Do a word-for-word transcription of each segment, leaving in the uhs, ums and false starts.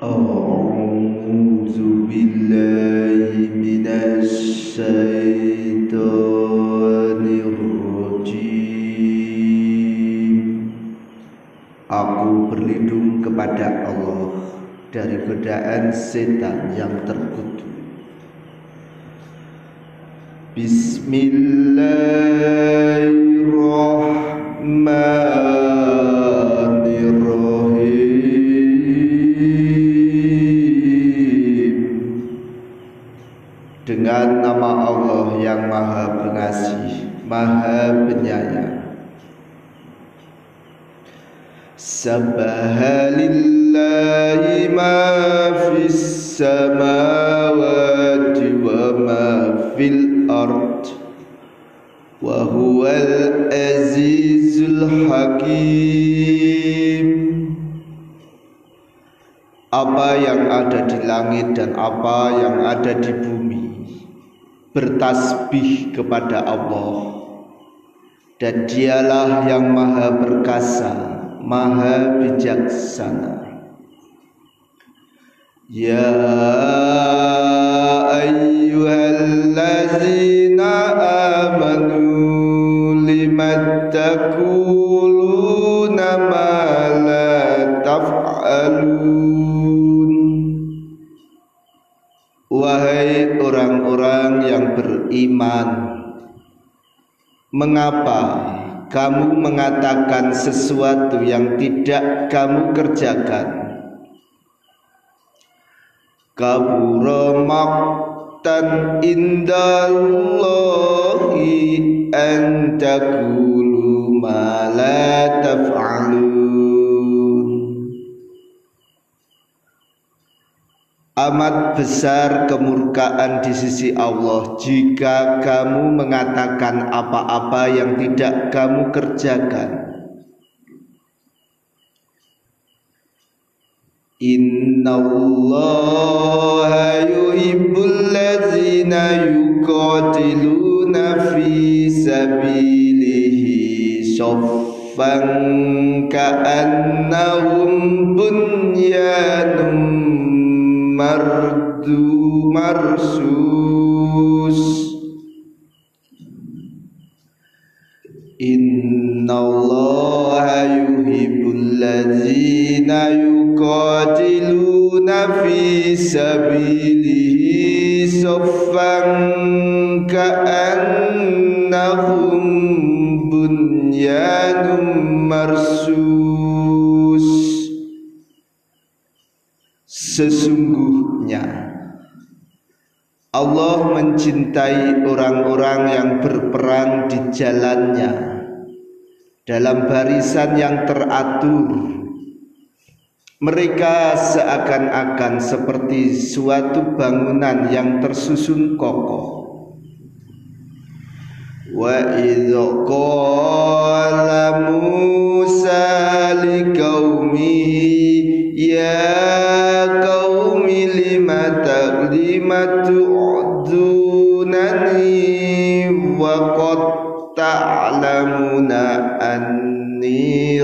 A'udzu billahi minasy syaithanir rajim. Aku berlindung kepada Allah dari godaan setan yang terkutuk. Bismillahirrahmanirrahim. Dengan nama Allah yang Maha Pengasih, Maha Penyayang. Sabbaha lillahi ma fis samawati wa ma fil ard wa huwal azizul hakim. Apa yang ada di langit dan apa yang ada di bumi bertasbih kepada Allah, dan Dialah yang Maha Perkasa, Maha Bijaksana. Ya ayyuhallazina amanu limattaquluna ma la taf'alun. Wahai orang-orang yang beriman, mengapa kamu mengatakan sesuatu yang tidak kamu kerjakan? Kabura maqtan indallahi an taqulu ma la taf'alun. Amat besar kemurkaan di sisi Allah jika kamu mengatakan apa-apa yang tidak kamu kerjakan. Innallaha yuhibbul ladzina yuqatiluna fi sabilihi shaffan ka'annahum bunyanun mardu marsus. Innallaha yuhibbul ladzina yuqatiluna fi sabilihi shaffan ka'annahum bunyanun marsus. Sesungguhnya Allah mencintai orang-orang yang berperang di jalannya dalam barisan yang teratur. Mereka seakan-akan seperti suatu bangunan yang tersusun kokoh. Wa idh qala Musa liqaumihi ya qaumi lima tu'dunani wa qad ta'lamuna anni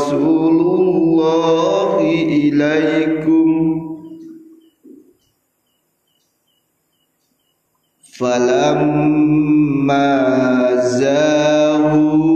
rasulullahi ilaikum falamma zaghu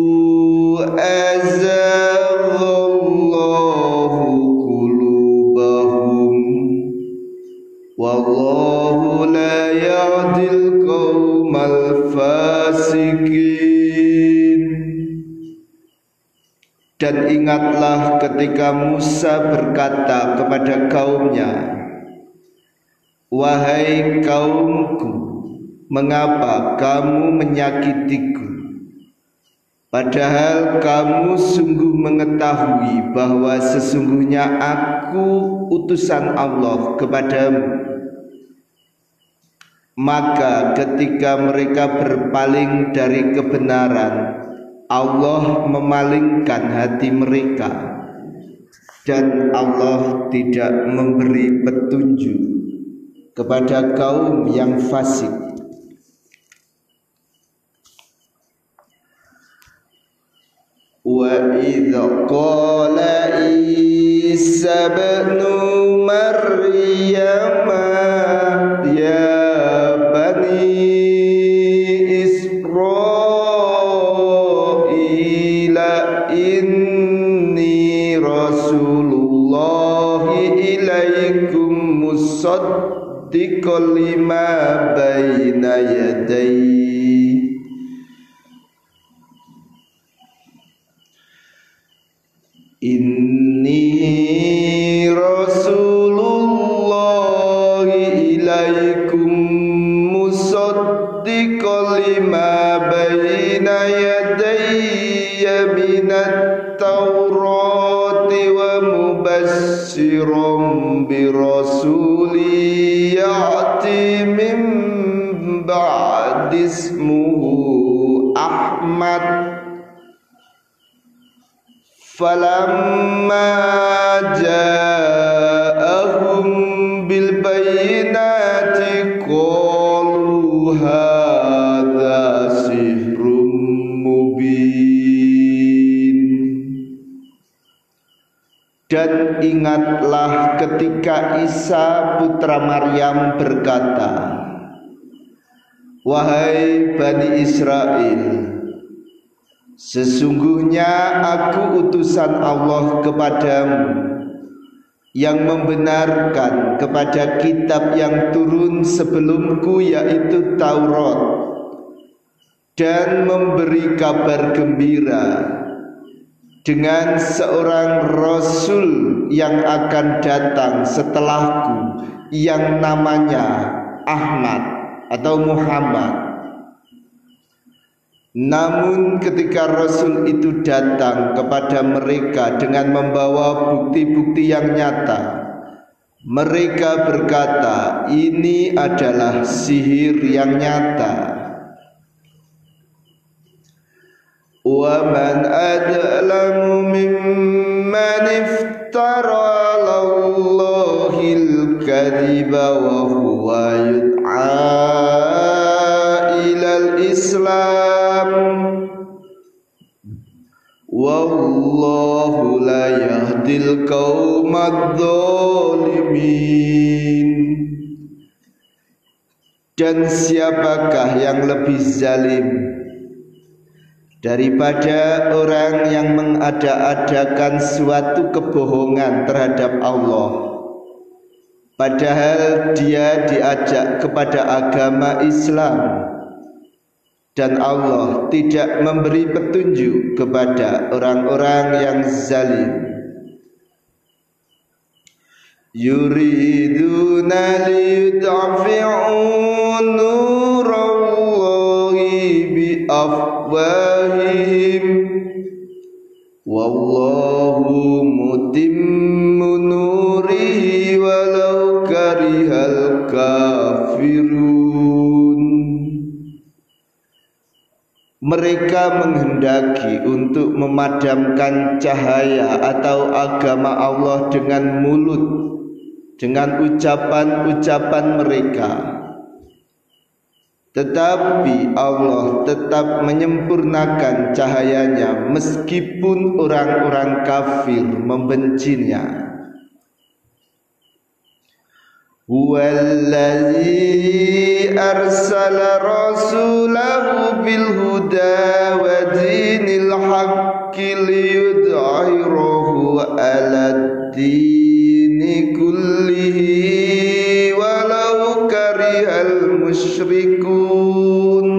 azaghallahu qulubahum wallahu la yahdil qaumal fasikin. Dan ingatlah ketika Musa berkata kepada kaumnya, wahai kaumku, mengapa kamu menyakitiku? Padahal kamu sungguh mengetahui bahwa sesungguhnya aku utusan Allah kepadamu. Maka ketika mereka berpaling dari kebenaran, Allah memalingkan hati mereka, dan Allah tidak memberi petunjuk kepada kaum yang fasik. Wa idh qala Isa ibnu Rasulullahi ilaikum musaddiqan lima baina yadayhi Inni Rasulullahi ilaikum musaddiqan lima baina yadayya minat Taurati wa mubassiran bi rasuli ya'ti min ba'di ismuhu Ahmad falamma ja'ahum bil bayyinati qalu hadza sihrun mubin. Dan ingatlah ketika Isa putra Maryam berkata, wahai Bani Israel, sesungguhnya aku utusan Allah kepadamu yang membenarkan kepada kitab yang turun sebelumku yaitu Taurat dan memberi kabar gembira dengan seorang Rasul yang akan datang setelahku yang namanya Ahmad atau Muhammad. Namun ketika Rasul itu datang kepada mereka dengan membawa bukti-bukti yang nyata, mereka berkata, ini adalah sihir yang nyata. Wa man adlamu mimman iftara 'alallahil kadhiba wa huwa yud'a ilal Islam wallahu la yahdil qaumadz zalimin. Dan siapakah yang lebih zalim daripada orang yang mengada-adakan suatu kebohongan terhadap Allah, padahal dia diajak kepada agama Islam, dan Allah tidak memberi petunjuk kepada orang-orang yang zalim. Yuriduna liyudfi'u nurallahi biafwahihim wallahu mutimmu nurihi walau karihal kafirun. Mereka menghendaki untuk memadamkan cahaya atau agama Allah dengan mulut, dengan ucapan-ucapan mereka, tetapi Allah tetap menyempurnakan cahayanya meskipun orang-orang kafir membencinya. Huwallazi arsala rasulahu bil huda wa dinil haqqi liyudhhirahu 'alad dini kullihi walau karihal musyrikun.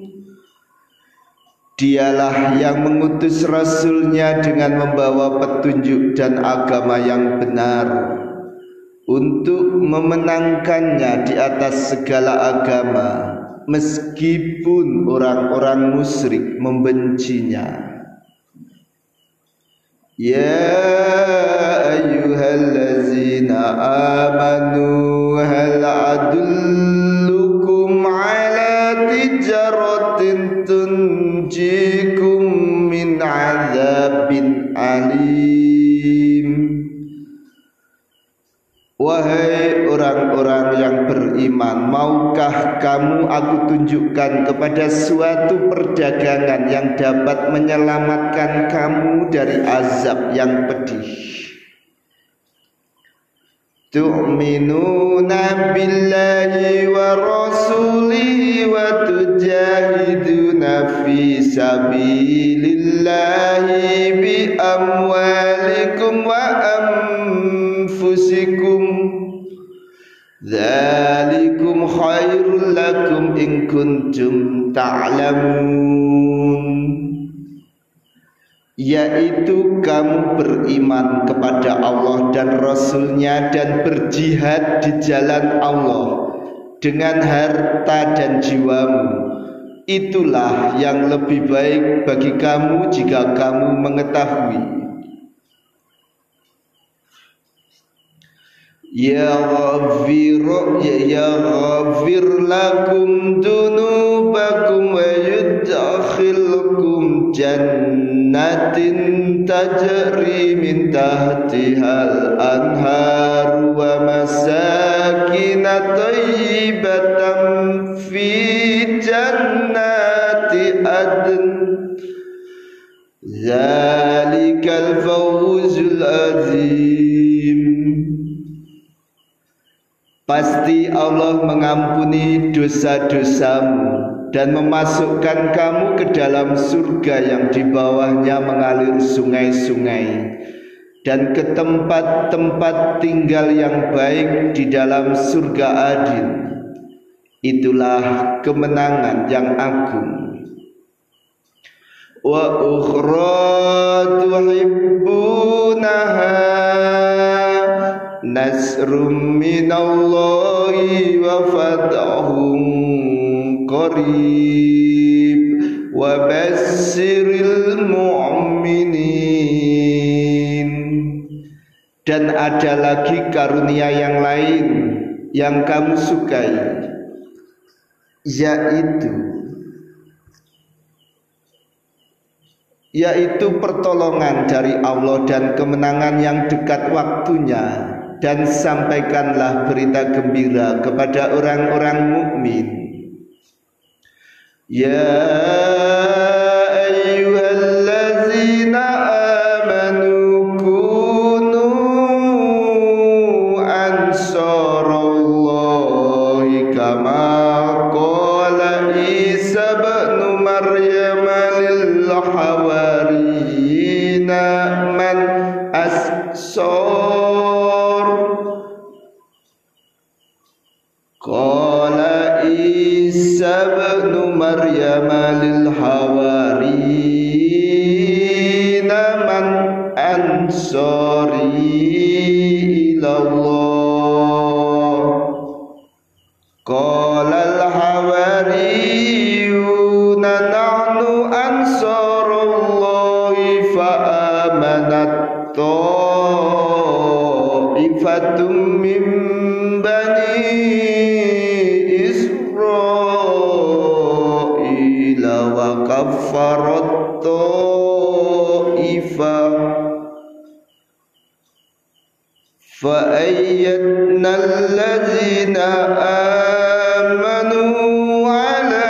Dialah yang mengutus rasulnya dengan membawa petunjuk dan agama yang benar untuk memenangkannya di atas segala agama meskipun orang-orang musyrik membencinya. Ya ayyuhallazina amanu hal adullukum ala tijaratin tunjikum min azabin alim. Wahai orang-orang yang beriman, maukah kamu aku tunjukkan kepada suatu perdagangan yang dapat menyelamatkan kamu dari azab yang pedih? Tu'minuna billahi wa rasulihi wa tujahiduna fi sabilillahi bi amwalikum amwalikum wa anfusikum dzalikum khairul lakum in kuntum ta'lamun, yaitu kamu beriman kepada Allah dan Rasul-Nya dan berjihad di jalan Allah dengan harta dan jiwamu. Itulah yang lebih baik bagi kamu jika kamu mengetahui. Yaghfir yaghfir lakum dunubakum wa yudkhilukum jannatin tajri min tahtihal anhar wa masakin thayyibatan fi jannati adn zalikal fawzul azim. Pasti Allah mengampuni dosa-dosamu dan memasukkan kamu ke dalam surga yang di bawahnya mengalir sungai-sungai, dan ke tempat-tempat tinggal yang baik di dalam surga Adin. Itulah kemenangan yang agung. Wa ukhra tuhibbunaha nasrum minallahi wa fathun qarib wa basyiril mu'minin. Dan ada lagi karunia yang lain yang kamu sukai, yaitu yaitu pertolongan dari Allah dan kemenangan yang dekat waktunya. Dan sampaikanlah berita gembira kepada orang-orang mukmin. Ya ayyuhallazina amanu kunu ansarallahi kama qala Isa ibn Maryam lil hawariyina man ansar Qala Isa ibn Maryam lil hawariyina man ansari ilallah Qala al hawariyuna nahnu ansarullahi fa amanat ta'ifatum min bani wa kaffarat ta'ifah fa ayyadna allazina amanu ala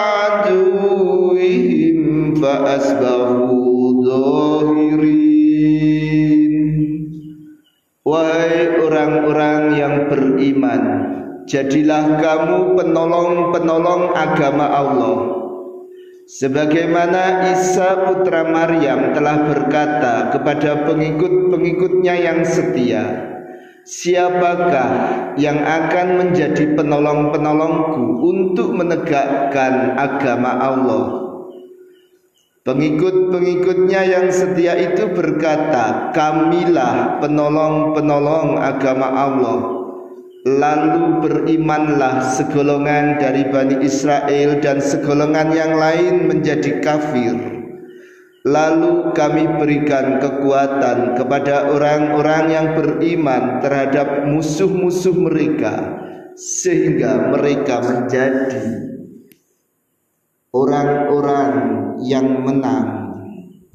aduwwihim fa asbahu dhahirin. Wahai orang-orang yang beriman, jadilah kamu penolong-penolong agama Allah, sebagaimana Isa putra Maryam telah berkata kepada pengikut-pengikutnya yang setia, siapakah yang akan menjadi penolong-penolongku untuk menegakkan agama Allah? Pengikut-pengikutnya yang setia itu berkata, kamilah penolong-penolong agama Allah. Lalu berimanlah segolongan dari Bani Israel dan segolongan yang lain menjadi kafir. Lalu kami berikan kekuatan kepada orang-orang yang beriman terhadap musuh-musuh mereka, sehingga mereka menjadi orang-orang yang menang.